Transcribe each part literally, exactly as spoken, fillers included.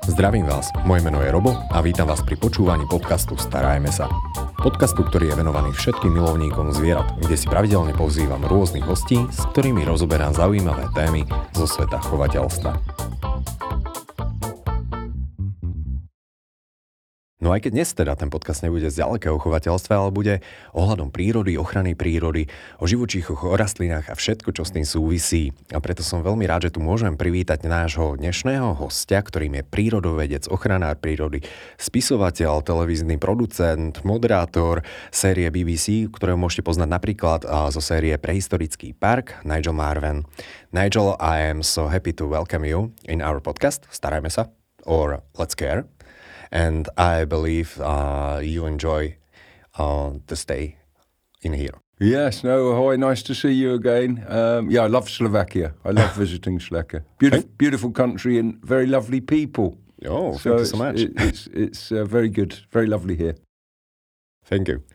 Zdravím vás, moje meno je Robo a vítam vás pri počúvaní podcastu Starajme sa. Podcastu, ktorý je venovaný všetkým milovníkom zvierat, kde si pravidelne pozývam rôznych hostí, s ktorými rozoberám zaujímavé témy zo sveta chovateľstva. No aj keď dnes teda ten podcast nebude zďaleka o chovateľstve, ale bude ohľadom prírody, ochrany prírody, o živočíchoch, o rastlinách a všetko, čo s tým súvisí. A preto som veľmi rád, že tu môžem privítať nášho dnešného hostia, ktorým je prírodovedec, ochranár prírody, spisovateľ, televízny producent, moderátor série bé bé cé, ktorého môžete poznať napríklad zo série Prehistorický park, Nigel Marven. Nigel, I am so happy to welcome you in our podcast, Starajme sa, or Let's Care. And I believe uh, you enjoy uh, the stay in here. Yes, no, ahoy, nice to see you again. Um, yeah, I love Slovakia. I love visiting Slovakia. Beautiful, beautiful country and very lovely people. Oh, so thank you so much. It, it's it's uh, very good, very lovely here. Thank you.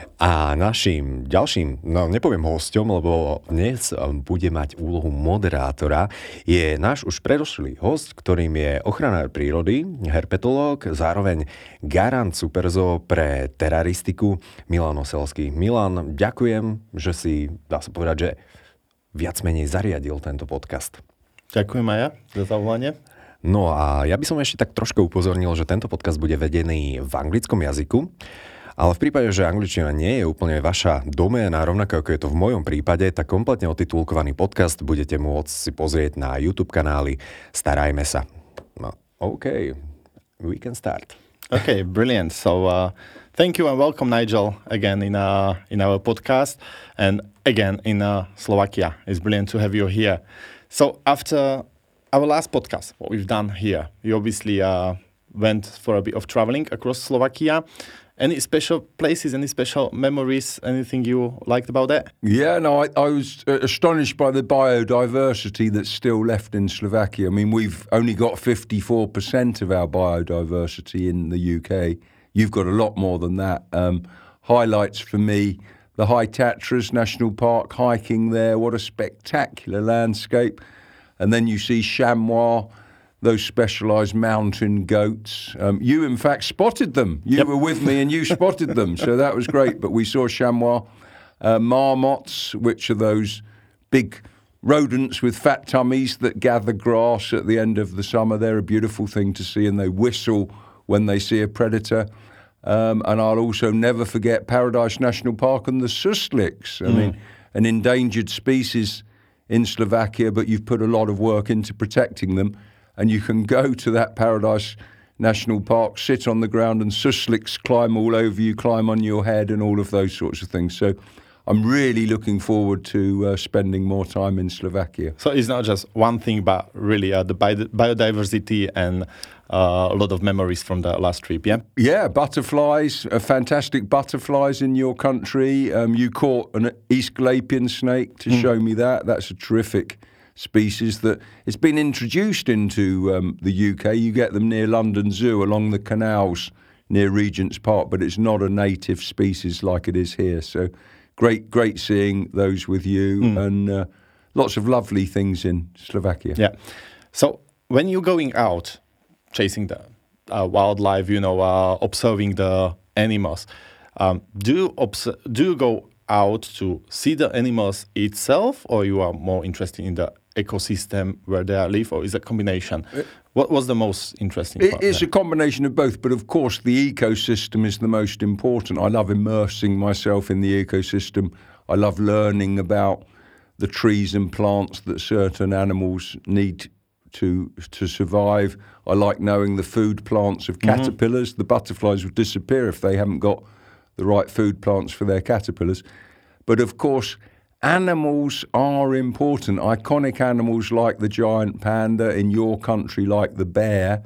A našim ďalším, no nepoviem hosťom, lebo dnes bude mať úlohu moderátora, je náš už predošlý host, ktorým je ochranár prírody, herpetológ, zároveň garant Superzoo pre teraristiku, Milan Oselský. Milan, ďakujem, že si, dá sa povedať, že viac menej zariadil tento podcast. Ďakujem aj ja za zavolanie. No a ja by som ešte tak trošku upozornil, že tento podcast bude vedený v anglickom jazyku. Ale v prípade, že angličtina nie je úplne vaša doména, rovnako ako je to v mojom prípade, tak kompletne otitulkovaný podcast budete môcť si pozrieť na YouTube kanály Starajme sa. No, OK, we can start. Okay, brilliant. So, uh, thank you and welcome, Nigel, again in uh, in our podcast and again in uh, Slovakia. It's brilliant to have you here. So, after our last podcast, what we've done here, you obviously uh, went for a bit of traveling across Slovakia. Any special places, any special memories, anything you liked about that? Yeah, no, I, I was uh, astonished by the biodiversity that's still left in Slovakia. I mean, we've only got fifty-four percent of our biodiversity in the U K. You've got a lot more than that. Um, highlights for me, the High Tatras National Park, hiking there, what a spectacular landscape. And then you see chamois, those specialised mountain goats. Um, you, in fact, spotted them. You yep. were with me and you spotted them, so that was great. But we saw chamois, uh, marmots, which are those big rodents with fat tummies that gather grass at the end of the summer. They're a beautiful thing to see, and they whistle when they see a predator. Um, and I'll also never forget Paradise National Park and the susliks. I mm. mean, an endangered species in Slovakia, but you've put a lot of work into protecting them. And you can go to that Paradise National Park, sit on the ground, and susliks climb all over you, climb on your head, and all of those sorts of things. So I'm really looking forward to uh, spending more time in Slovakia. So it's not just one thing, but really uh, the bi- biodiversity and uh, a lot of memories from the last trip, yeah? Yeah, butterflies, uh, fantastic butterflies in your country. Um, you caught an Aesculapian snake to mm. show me that. That's a terrific species that it's been introduced into um, the U K. You get them near London Zoo along the canals near Regent's Park, but it's not a native species like it is here. So great, great seeing those with you mm. and uh, lots of lovely things in Slovakia. Yeah. So when you're going out chasing the uh, wildlife, you know, uh, observing the animals, um, do you obs- do you go out to see the animals itself, or you are more interested in the ecosystem where they live, or is it a combination? It, what was the most interesting it part? It's there? a combination of both, but of course the ecosystem is the most important. I love immersing myself in the ecosystem. I love learning about the trees and plants that certain animals need to to survive. I like knowing the food plants of caterpillars. Mm-hmm. The butterflies would disappear if they haven't got the right food plants for their caterpillars. But of course, animals are important. Iconic animals like the giant panda, in your country like the bear.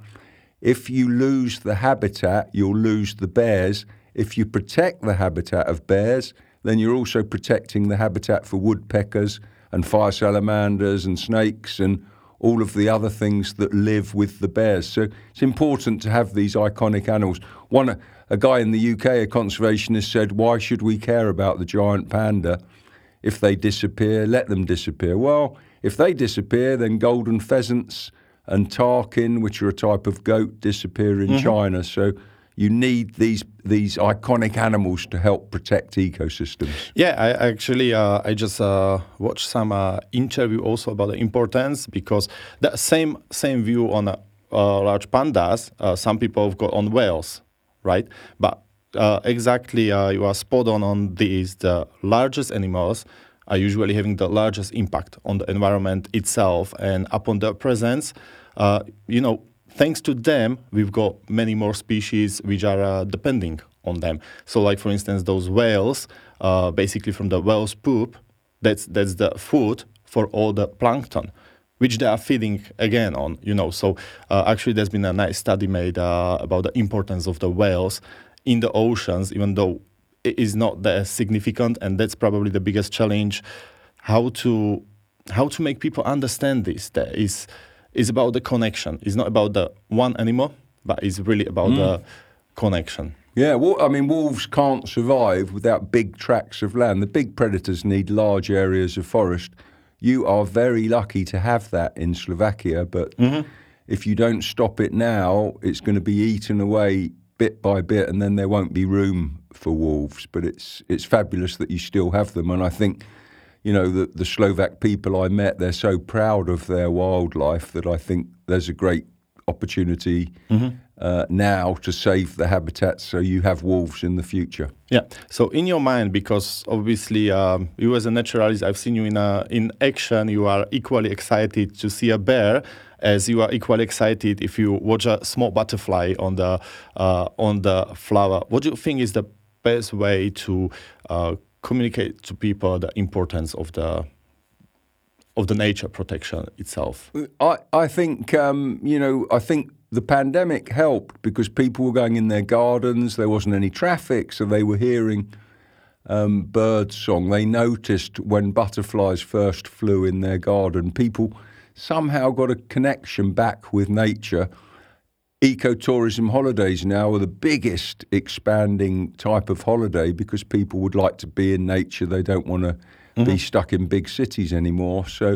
If you lose the habitat, you'll lose the bears. If you protect the habitat of bears, then you're also protecting the habitat for woodpeckers and fire salamanders and snakes and all of the other things that live with the bears. So it's important to have these iconic animals. One, a guy in the U K, a conservationist, said, why should we care about the giant panda? If they disappear, let them disappear. Well, if they disappear, then golden pheasants and Tarkin, which are a type of goat, disappear in mm-hmm. China. So you need these these iconic animals to help protect ecosystems. Yeah, I actually uh, I just uh, watched some uh, interview also about the importance, because the same same view on uh, uh, large pandas. Uh, some people have got on whales, right? But uh, exactly, uh, you are spot on on these. The largest animals are usually having the largest impact on the environment itself, and upon their presence, uh, you know. Thanks to them, we've got many more species which are uh, depending on them. So, like for instance, those whales, uh, basically from the whale's poop, that's that's the food for all the plankton, which they are feeding again on. You know, so uh, actually, there's been a nice study made uh, about the importance of the whales in the oceans, even though it is not that significant, and that's probably the biggest challenge. How to how to make people understand this? That is. Is about the connection. It's not about the one animal, but it's really about mm. the connection. Yeah, well, I mean, wolves can't survive without big tracts of land. The big predators need large areas of forest. You are very lucky to have that in Slovakia, but mm-hmm. if you don't stop it now, it's going to be eaten away bit by bit, and then there won't be room for wolves. But it's it's fabulous that you still have them, and I think, you know, the, the Slovak people I met, they're so proud of their wildlife that I think there's a great opportunity mm-hmm. uh, now to save the habitats so you have wolves in the future. Yeah. So in your mind, because obviously um, you as a naturalist, I've seen you in a, in action, you are equally excited to see a bear as you are equally excited if you watch a small butterfly on the uh, on the flower. What do you think is the best way to uh, communicate to people the importance of the of the nature protection itself? I I think um, you know I think the pandemic helped because people were going in their gardens. There wasn't any traffic, so they were hearing um, bird song. They noticed when butterflies first flew in their garden. People somehow got a connection back with nature. Ecotourism holidays now are the biggest expanding type of holiday because people would like to be in nature. They don't want to mm-hmm. be stuck in big cities anymore. So,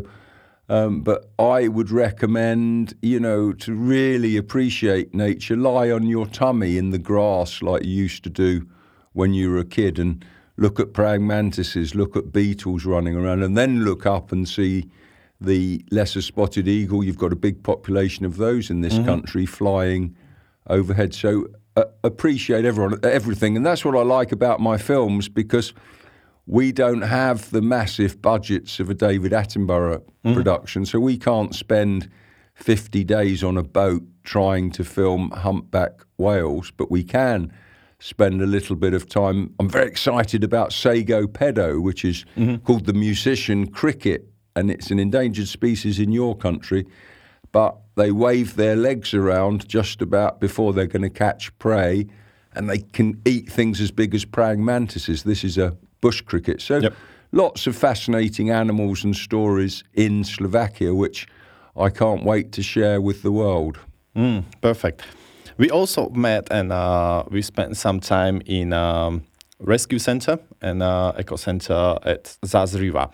um, but I would recommend, you know, to really appreciate nature, lie on your tummy in the grass like you used to do when you were a kid and look at praying mantises, look at beetles running around, and then look up and see the lesser spotted eagle. You've got a big population of those in this mm-hmm. country flying overhead. So uh, appreciate everyone, everything. And that's what I like about my films, because we don't have the massive budgets of a David Attenborough mm-hmm. production. So we can't spend fifty days on a boat trying to film humpback whales, but we can spend a little bit of time. I'm very excited about Sago Pedo, which is mm-hmm. called the musician cricket. And it's an endangered species in your country, but they wave their legs around just about before they're going to catch prey, and they can eat things as big as praying mantises. This is a bush cricket. So yep. lots of fascinating animals and stories in Slovakia, which I can't wait to share with the world. Mm, perfect. We also met and uh, we spent some time in um, rescue center and uh, eco center at Zázriva.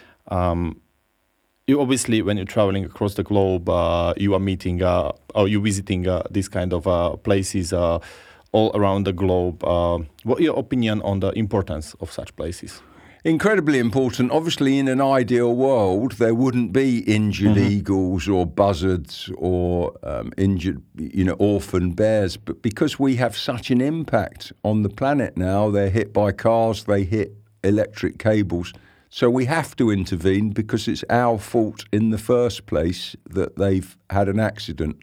Um, You obviously, when you're traveling across the globe, uh, you are meeting uh, or you're visiting uh, these kind of uh, places uh, all around the globe. Uh, what is your opinion on the importance of such places? Incredibly important. Obviously, in an ideal world, there wouldn't be injured mm-hmm. eagles or buzzards or um, injured, you know, orphan bears. But because we have such an impact on the planet now, they're hit by cars, they hit electric cables. So we have to intervene because it's our fault in the first place that they've had an accident.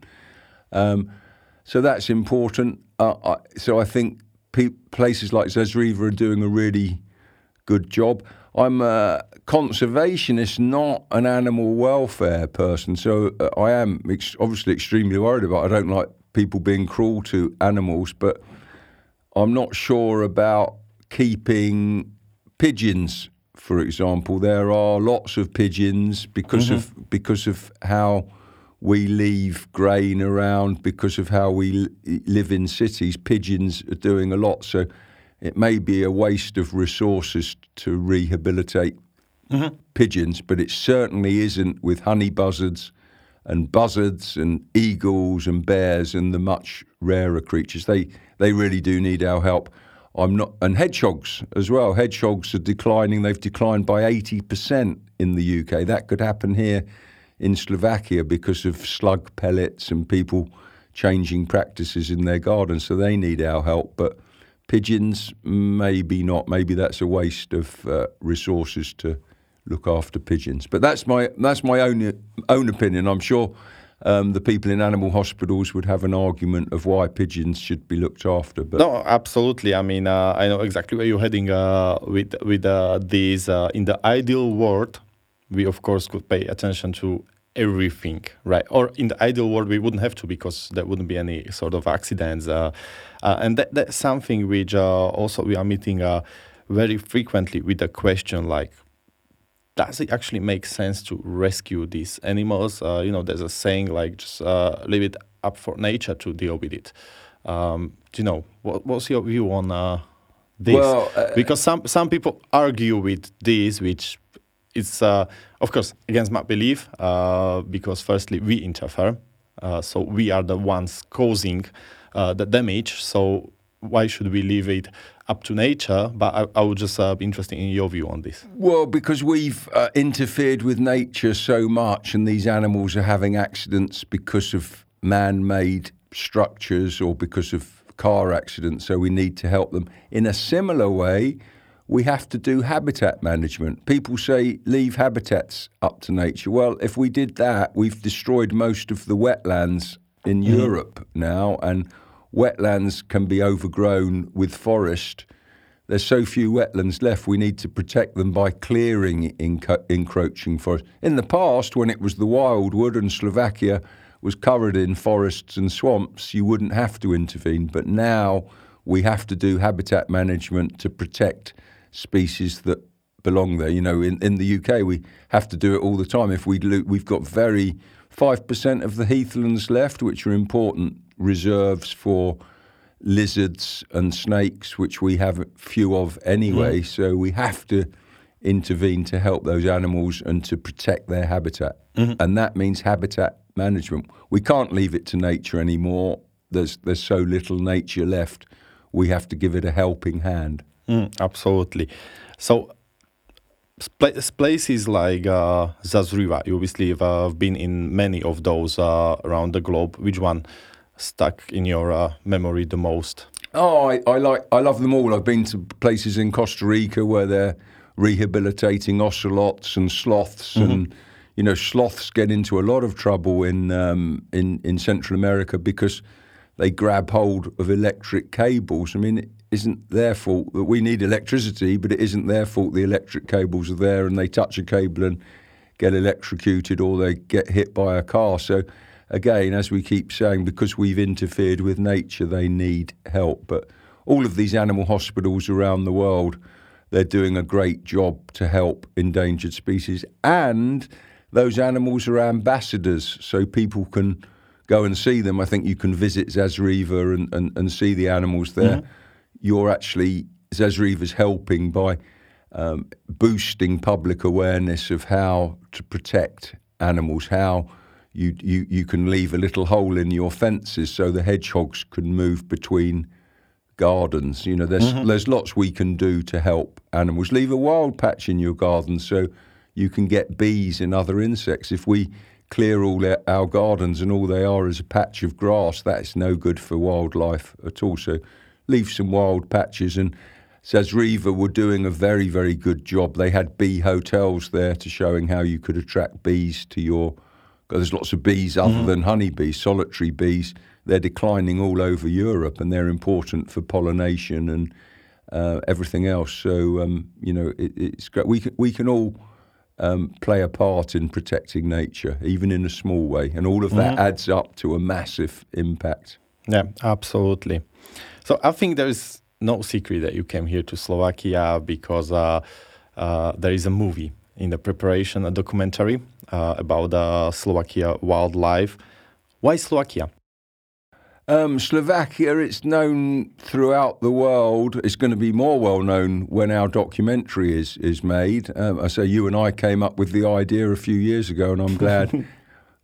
Um, so that's important. Uh, I, so I think pe- places like Zázriva are doing a really good job. I'm a conservationist, not an animal welfare person. So uh, I am ex- obviously extremely worried about it. I don't like people being cruel to animals, but I'm not sure about keeping pigeons. For example, there are lots of pigeons because mm-hmm. of because of how we leave grain around, because of how we li- live in cities. Pigeons are doing a lot, so it may be a waste of resources to rehabilitate mm-hmm. pigeons, but it certainly isn't with honey buzzards and buzzards and eagles and bears and the much rarer creatures. They they really do need our help. I'm not, and hedgehogs as well. Hedgehogs are declining. They've declined by eighty percent in the U K. That could happen here in Slovakia because of slug pellets and people changing practices in their gardens. So they need our help. But pigeons, maybe not. Maybe that's a waste of uh, resources to look after pigeons. But that's my that's my own own opinion. I'm sure um, the people in animal hospitals would have an argument of why pigeons should be looked after. But no, absolutely. I mean, uh, I know exactly where you're heading uh, with with uh, these. Uh, in the ideal world, we of course could pay attention to everything, right? Or in the ideal world, we wouldn't have to because there wouldn't be any sort of accidents. Uh, uh, and that, that's something which uh, also we are meeting uh, very frequently with the question like, does it actually make sense to rescue these animals? Uh, you know, there's a saying like, just uh, leave it up for nature to deal with it. Um, do you know, what, what's your view on uh, this? Well, uh, because some, some people argue with this, which is, uh, of course, against my belief, uh, because firstly, we interfere. Uh, so we are the ones causing uh, the damage. So why should we leave it up to nature? But I, I would just uh, be interested in your view on this. Well, because we've uh, interfered with nature so much and these animals are having accidents because of man-made structures or because of car accidents, so we need to help them. In a similar way, we have to do habitat management. People say leave habitats up to nature. Well, if we did that, we've destroyed most of the wetlands in mm-hmm. Europe now, and wetlands can be overgrown with forest. There's so few wetlands left, we need to protect them by clearing enc- encroaching forest. In the past, when it was the wildwood and Slovakia was covered in forests and swamps, you wouldn't have to intervene. But now we have to do habitat management to protect species that belong there. You know, in, in the U K, we have to do it all the time. If we lo- we've got very five percent of the heathlands left, which are important reserves for lizards and snakes, which we have few of anyway. Mm. So we have to intervene to help those animals and to protect their habitat. Mm-hmm. And that means habitat management. We can't leave it to nature anymore. There's there's so little nature left. We have to give it a helping hand. Mm, absolutely. So places like uh, Zazriva, you obviously have uh, been in many of those uh, around the globe. Which one stuck in your uh, memory the most? Oh, I, I like I love them all. I've been to places in Costa Rica where they're rehabilitating ocelots and sloths, mm-hmm. and you know, sloths get into a lot of trouble in um, in in Central America because they grab hold of electric cables. I mean, it isn't their fault that we need electricity, but it isn't their fault the electric cables are there and they touch a cable and get electrocuted or they get hit by a car. So again, as we keep saying, because we've interfered with nature, they need help. But all of these animal hospitals around the world, they're doing a great job to help endangered species. And those animals are ambassadors, so people can go and see them. I think you can visit Zazriva and, and, and see the animals there. Mm-hmm. You're actually, Zazriva's helping by um, boosting public awareness of how to protect animals, how you, you, you can leave a little hole in your fences so the hedgehogs can move between gardens. You know, there's mm-hmm. there's lots we can do to help animals. Leave a wild patch in your garden so you can get bees and other insects. If we clear all our gardens and all they are is a patch of grass, that's no good for wildlife at all. So leave some wild patches. And Zazriva were doing a very, very good job. They had bee hotels there to showing how you could attract bees to your... There's lots of bees other mm-hmm. than honeybees, solitary bees. They're declining all over Europe and they're important for pollination and uh, everything else. So, um, you know, it, it's great. We can, we can all um, play a part in protecting nature, even in a small way. And all of that mm-hmm. adds up to a massive impact. Yeah, absolutely. So I think there is no secret that you came here to Slovakia because uh, uh, there is a movie in the preparation, a documentary uh, about uh, Slovakia wildlife. Why Slovakia? Um, Slovakia, it's known throughout the world. It's going to be more well known when our documentary is is made. Um, I say you and I came up with the idea a few years ago, and I'm glad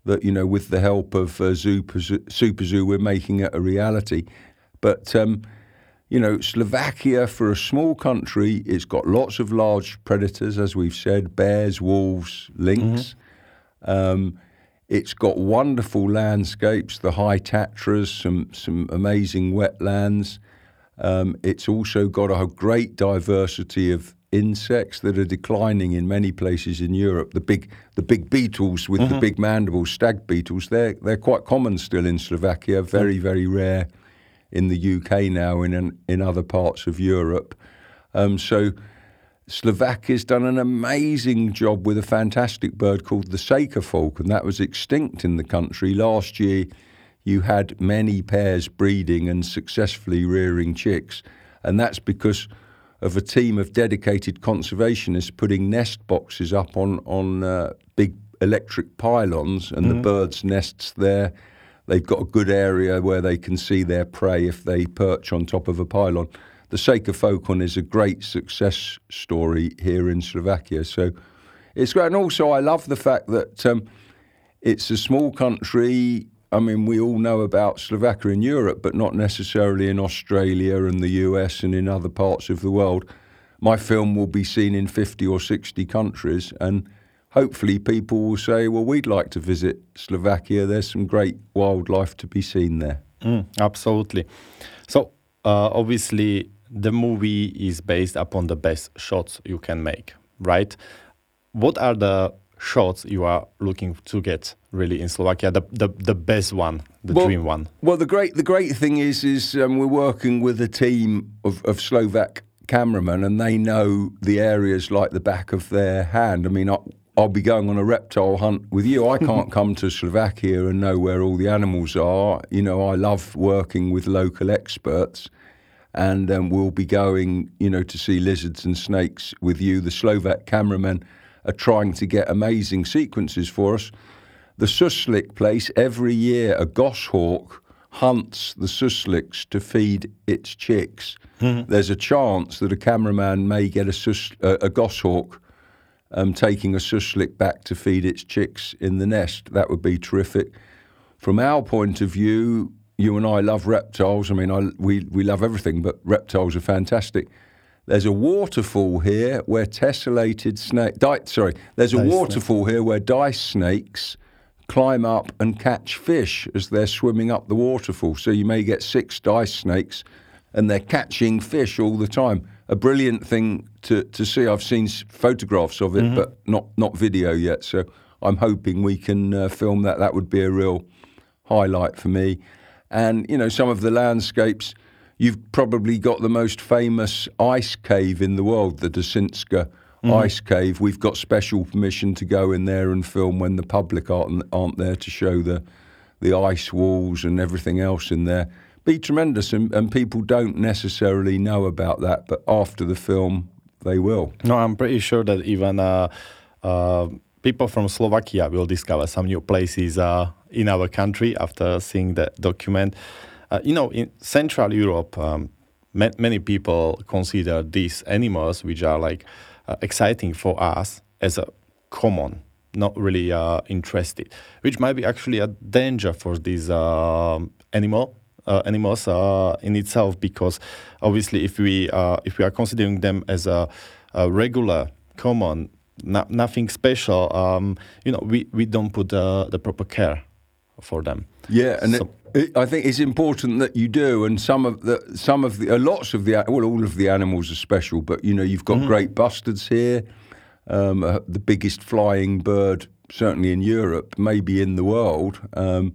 that, you know, with the help of uh, Super, Super Zoo, we're making it a reality. But, um, you know, Slovakia, for a small country, it's got lots of large predators, as we've said, bears, wolves, lynx. Mm-hmm. Um, it's got wonderful landscapes, the high Tatras, some, some amazing wetlands. Um, it's also got a great diversity of insects that are declining in many places in Europe. The big the big beetles with mm-hmm. the big mandibles, stag beetles, they're, they're quite common still in Slovakia, very, very rare in the U K now, in in other parts of Europe. Um, so Slovakia's done an amazing job with a fantastic bird called the Saker falcon. That was extinct in the country. Last year, you had many pairs breeding and successfully rearing chicks, and that's because of a team of dedicated conservationists putting nest boxes up on, on uh, big electric pylons, and mm-hmm. the birds' nests there. They've got a good area where they can see their prey if they perch on top of a pylon. The Saker falcon is a great success story here in Slovakia. So it's great. And also I love the fact that um, it's a small country. I mean, we all know about Slovakia in Europe, but not necessarily in Australia and the U S and in other parts of the world. My film will be seen in fifty or sixty countries, and hopefully people will say, well, we'd like to visit Slovakia. There's some great wildlife to be seen there. Mm, absolutely. So, uh, obviously, the movie is based upon the best shots you can make, right? What are the shots you are looking to get really in Slovakia, the the, the best one, the well, dream one? Well, the great the great thing is is um, we're working with a team of, of Slovak cameramen, and they know the areas like the back of their hand. I mean, I, I'll be going on a reptile hunt with you. I can't come to Slovakia and know where all the animals are. You know, I love working with local experts, and um, we'll be going, you know, to see lizards and snakes with you. The Slovak cameramen are trying to get amazing sequences for us. The suslik place, every year a goshawk hunts the susliks to feed its chicks. Mm-hmm. There's a chance that a cameraman may get a, sus, uh, a goshawk um, taking a suslik back to feed its chicks in the nest. That would be terrific. From our point of view, you and I love reptiles. I mean, I, we, we love everything, but reptiles are fantastic. There's a waterfall here where tessellated snake, di- sorry, there's a dice waterfall snake. here where dice snakes climb up and catch fish as they're swimming up the waterfall. So you may get six dice snakes and they're catching fish all the time. A brilliant thing to, to see. I've seen photographs of it, mm-hmm. but not, not video yet. So I'm hoping we can uh, film that. That would be a real highlight for me. And, you know, some of the landscapes, you've probably got the most famous ice cave in the world, the Dasinska mm-hmm. ice cave. We've got special permission to go in there and film when the public aren't, aren't there to show the the ice walls and everything else in there. Be tremendous, and, and people don't necessarily know about that, but after the film, they will. No, I'm pretty sure that even uh, uh, people from Slovakia will discover some new places uh, in our country after seeing the document. Uh, you know, in Central Europe, um, ma- many people consider these animals, which are like uh, exciting for us, as a common, not really uh, interested, which might be actually a danger for these uh, animal uh, animals uh, in itself, because obviously, if we uh, if we are considering them as a, a regular, common, no- nothing special, um, you know, we, we don't put uh, the proper care for them. Yeah, and so, it, it, I think it's important that you do. And some of the, some of the, uh, lots of the, well, all of the animals are special. But you know, you've got mm-hmm. great bustards here, um, uh, the biggest flying bird certainly in Europe, maybe in the world. Um,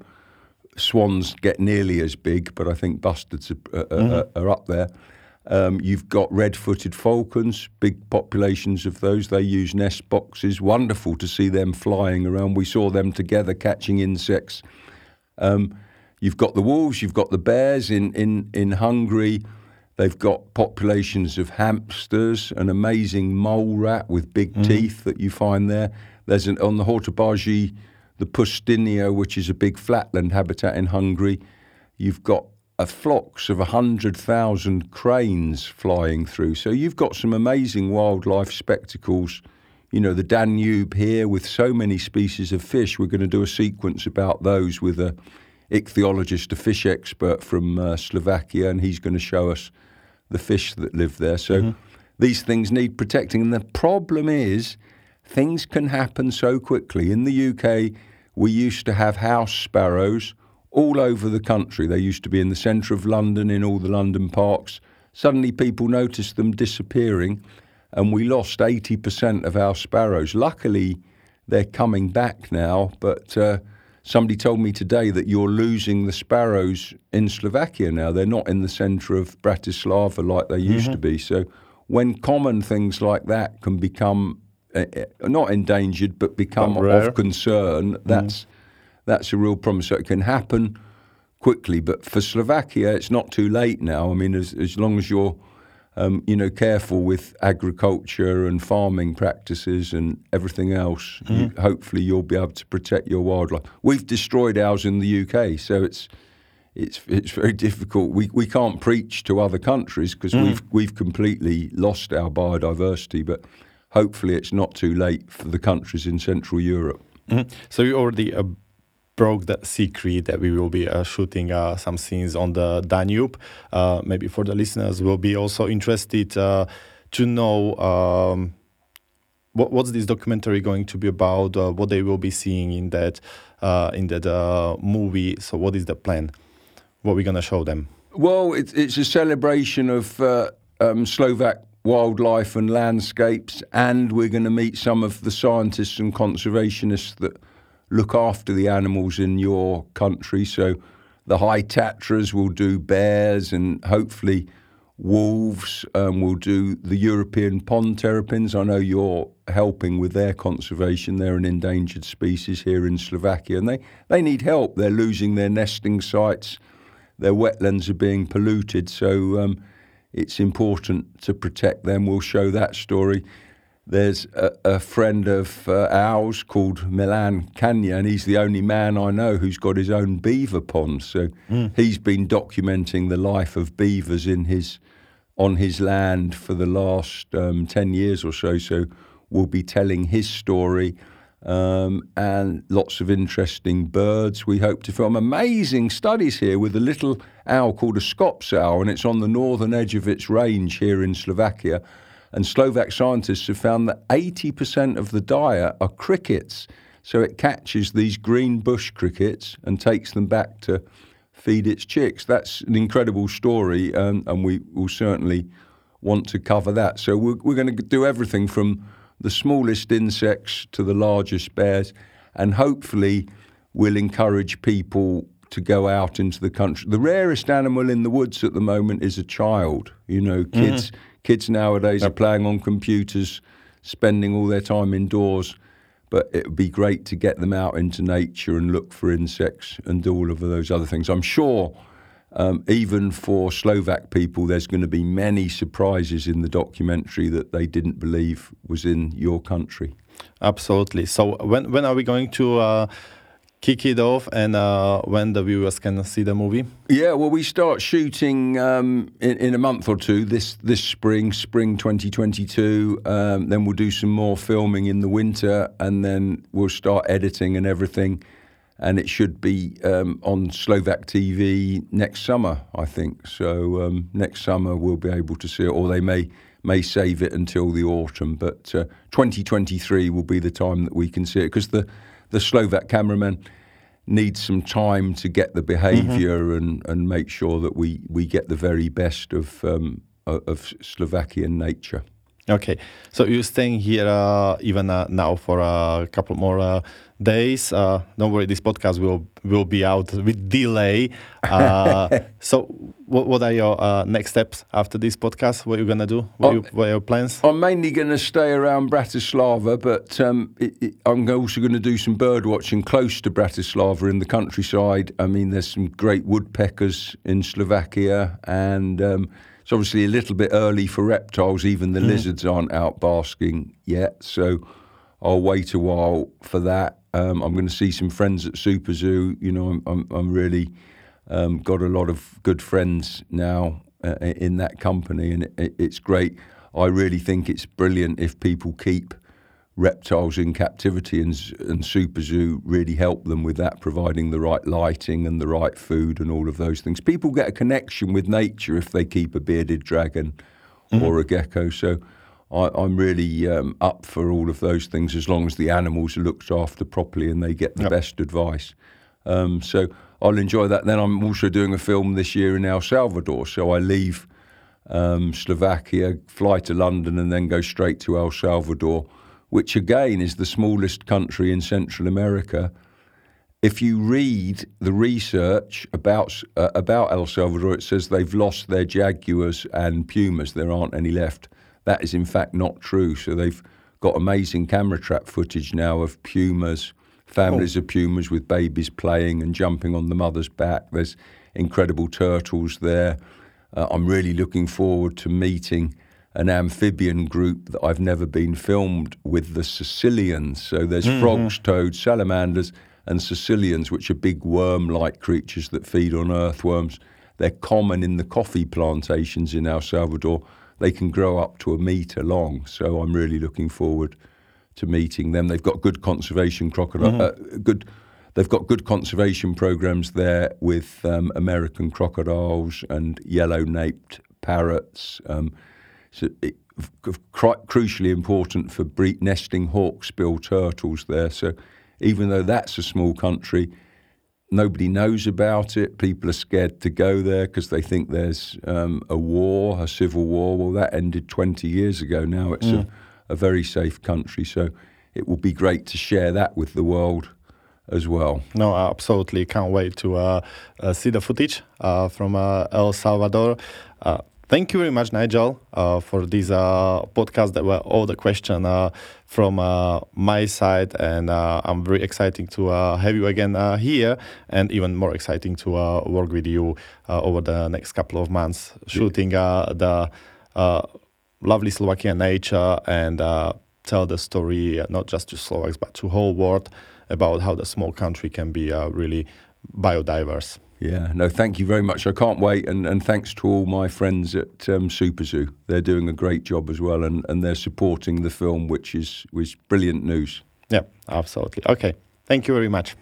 swans get nearly as big, but I think bustards are, uh, mm-hmm. are, are up there. Um, you've got red-footed falcons, big populations of those. They use nest boxes. Wonderful to see them flying around. We saw them together catching insects. Um, you've got the wolves, you've got the bears in, in, in Hungary. They've got populations of hamsters, an amazing mole rat with big mm-hmm. teeth that you find there. There's an, on the Hortobágy, the Pusztinia, which is a big flatland habitat in Hungary. You've got a flocks of one hundred thousand cranes flying through. So you've got some amazing wildlife spectacles, you know, the Danube here with so many species of fish. We're going to do a sequence about those with a ichthyologist, a fish expert from uh, Slovakia, and he's going to show us the fish that live there. So mm-hmm. these things need protecting. And the problem is things can happen so quickly. In the U K, we used to have house sparrows all over the country. They used to be in the centre of London, in all the London parks. Suddenly people noticed them disappearing, and we lost eighty percent of our sparrows. Luckily, they're coming back now, but uh, somebody told me today that you're losing the sparrows in Slovakia now. They're not in the centre of Bratislava like they used mm-hmm. to be. So when common things like that can become, uh, not endangered, but become but of concern, that's, mm. that's a real problem. So it can happen quickly. But for Slovakia, it's not too late now. I mean, as, as long as you're Um, you know, careful with agriculture and farming practices and everything else, mm-hmm. you, hopefully you'll be able to protect your wildlife. We've destroyed ours in the U K, so it's it's it's very difficult. We we can't preach to other countries because mm-hmm. we've we've completely lost our biodiversity. But hopefully it's not too late for the countries in Central Europe. Mm-hmm. So you already uh, broke the secret that we will be uh, shooting uh, some scenes on the Danube. Uh, maybe for the listeners, will be also interested uh, to know um, what, what's this documentary going to be about, uh, what they will be seeing in that uh, in that uh, movie. So what is the plan? What we're going to show them? Well, it's, it's a celebration of uh, um, Slovak wildlife and landscapes, and we're going to meet some of the scientists and conservationists that look after the animals in your country. So the High Tatras will do bears, and hopefully wolves um, will do the European pond terrapins. I know you're helping with their conservation. They're an endangered species here in Slovakia, and they, they need help. They're losing their nesting sites. Their wetlands are being polluted. So um, it's important to protect them. We'll show that story. There's a, a friend of uh, ours called Milan Kanya, and he's the only man I know who's got his own beaver pond. So mm. he's been documenting the life of beavers in his on his land for the last um, ten years or so. So we'll be telling his story, um, and lots of interesting birds. We hope to film amazing studies here with a little owl called a Scops owl, and it's on the northern edge of its range here in Slovakia. And Slovak scientists have found that eighty percent of the diet are crickets. So it catches these green bush crickets and takes them back to feed its chicks. That's an incredible story, um, and we will certainly want to cover that. So we're, we're going to do everything from the smallest insects to the largest bears, and hopefully we'll encourage people to go out into the country. The rarest animal in the woods at the moment is a child. You know, kids... Mm-hmm. Kids nowadays yep. are playing on computers, spending all their time indoors, but it would be great to get them out into nature and look for insects and do all of those other things. I'm sure um, even for Slovak people, there's going to be many surprises in the documentary that they didn't believe was in your country. Absolutely. So when when are we going to uh, kick it off, and uh, when the viewers can see the movie? Yeah, well, we start shooting um, in, in a month or two, this this spring, spring twenty twenty-two. Um, then we'll do some more filming in the winter, and then we'll start editing and everything. And it should be um, on Slovak T V next summer, I think. So um, next summer we'll be able to see it, or they may may save it until the autumn. But uh, twenty twenty-three will be the time that we can see it, because the the Slovak cameraman needs some time to get the behaviour mm-hmm. and, and make sure that we, we get the very best of um, of Slovakian nature. Okay, so you're staying here uh, even uh, now for a couple more uh, days. Uh, don't worry, this podcast will will be out with delay. Uh, so, what what are your uh, next steps after this podcast? What are you gonna do? What, you, what are your plans? I'm mainly gonna stay around Bratislava, but um, it, it, I'm also going to do some bird watching close to Bratislava in the countryside. I mean, there's some great woodpeckers in Slovakia, and um, it's obviously a little bit early for reptiles. Even the mm. lizards aren't out basking yet, so I'll wait a while for that. Um, I'm going to see some friends at Super Zoo. You know, I'm I'm, I'm really um, got a lot of good friends now uh, in that company, and it, it's great. I really think it's brilliant if people keep reptiles in captivity, and, and Super Zoo really help them with that, providing the right lighting and the right food and all of those things. People get a connection with nature if they keep a bearded dragon mm-hmm. or a gecko. So I, I'm really um, up for all of those things as long as the animals are looked after properly and they get the yep. best advice. Um, so I'll enjoy that. Then I'm also doing a film this year in El Salvador. So I leave um, Slovakia, fly to London, and then go straight to El Salvador, which again is the smallest country in Central America. If you read the research about uh, about El Salvador, it says they've lost their jaguars and pumas. There aren't any left. That is in fact not true. So they've got amazing camera trap footage now of pumas, families oh. of pumas with babies playing and jumping on the mother's back. There's incredible turtles there. Uh, I'm really looking forward to meeting an amphibian group that I've never been filmed with, the Sicilians. So there's mm-hmm. frogs, toads, salamanders, and Sicilians, which are big worm-like creatures that feed on earthworms. They're common in the coffee plantations in El Salvador. They can grow up to a metre long. So I'm really looking forward to meeting them. They've got good conservation crocodile, mm-hmm. uh, good. They've got good conservation programs there with um, American crocodiles and yellow-naped parrots. Um, so it, cru- crucially important for bre- nesting hawksbill turtles there. So even though that's a small country, nobody knows about it. People are scared to go there because they think there's um, a war, a civil war. Well, that ended twenty years ago. Now it's mm. a, a very safe country. So it will be great to share that with the world as well. No, absolutely. Can't wait to uh, uh, see the footage uh, from uh, El Salvador. Uh, thank you very much, Nigel, uh, for this uh, podcast. That were all the questions uh, from uh, my side, and uh, I'm very excited to uh, have you again uh, here, and even more exciting to uh, work with you uh, over the next couple of months, shooting uh, the uh, lovely Slovakian nature and uh, tell the story uh, not just to Slovaks but to whole world about how the small country can be uh, really biodiverse. Yeah, no, thank you very much. I can't wait, and, and thanks to all my friends at um, Super Zoo. They're doing a great job as well, and, and they're supporting the film, which is which brilliant news. Yeah, absolutely. Okay, thank you very much.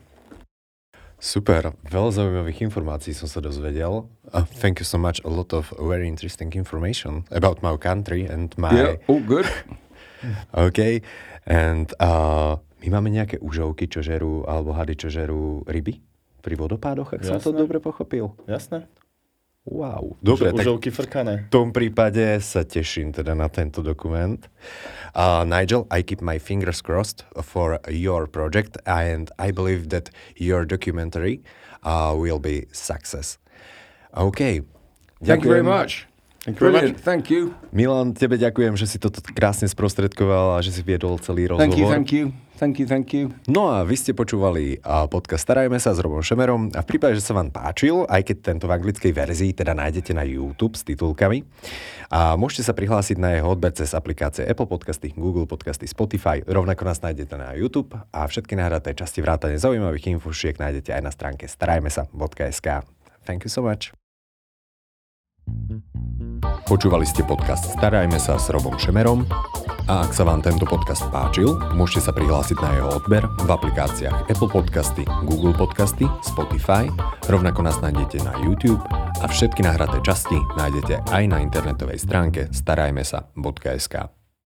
Super, veľa zaujímavých informácií som sa dozvedel. Uh, thank you so much, a lot of very interesting information about my country and my... Yeah, all good. Okay, and... Uh, My máme nejaké užovky, čo žerú, alebo hady, čo žerú ryby pri vodopádoch, ak Jasné. som to dobre pochopil. Jasné. Wow. Dobre, Už, užovky frkané. V tom prípade sa teším teda na tento dokument. Uh, Nigel, I keep my fingers crossed for your project, and I believe that your documentary uh, will be success. OK. Thank you very much. Thank you Brilliant, thank you. Milan, tebe ďakujem, že si toto krásne sprostredkoval a že si viedol celý rozhovor. Thank you, thank you. Thank you, thank you. No a vy ste počúvali podcast Starajme sa s Robom Šemerom a v prípade, že sa vám páčil, aj keď tento v anglickej verzii teda nájdete na YouTube s titulkami, a môžete sa prihlásiť na jeho odber cez aplikácie Apple Podcasty, Google Podcasty, Spotify, rovnako nás nájdete na YouTube a všetky nahraté časti vrátane zaujímavých infošiek nájdete aj na stránke starajmesa bodka es ká. Thank you so much. Počúvali ste podcast Starajme sa s Robom Šemerom a ak sa vám tento podcast páčil, môžete sa prihlásiť na jeho odber v aplikáciách Apple Podcasty, Google Podcasty, Spotify, rovnako nás nájdete na YouTube a všetky nahraté časti nájdete aj na internetovej stránke starajmesa bodka es ká.